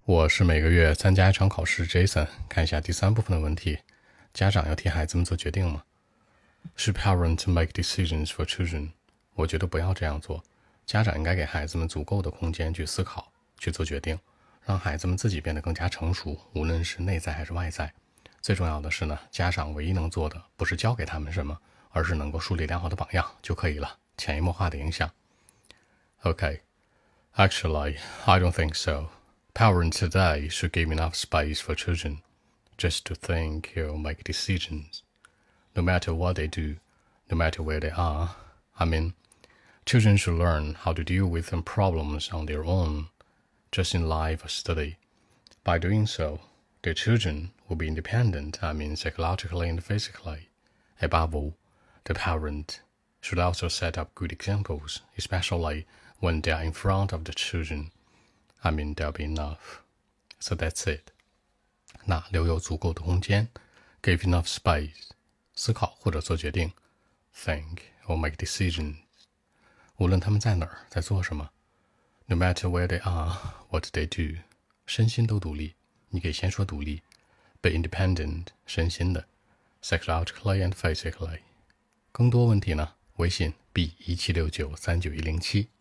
我是每个月参加一场考试 Jason， 看一下第3部分的问题。家长要替孩子们做决定吗？ Should parents make decisions for children？ 我觉得不要这样做。家长应该给孩子们足够的空间去思考，去做决定，让孩子们自己变得更加成熟，无论是内在还是外在。最重要的是呢，家长唯一能做的不是教给他们什么，而是能够树立良好的榜样就可以了，潜移默化的影响。Okay, actually, I don't think so.Parents today should give enough space for children just to think or make decisions, no matter what they do, no matter where they are. I mean, children should learn how to deal with some problems on their own, just in life or study. By doing so, their children will be independent, psychologically and physically. Above all, the parent should also set up good examples, especially when they are in front of the children.there'll be enough. So that's it. 那留有足够的空间 give enough space 思考或者做决定 think or make decisions 无论他们在哪儿在做什么 no matter where they are what they do 身心都独立你可以先说独立 be independent 身心的 psychologically and physically 更多问题呢微信 B176939107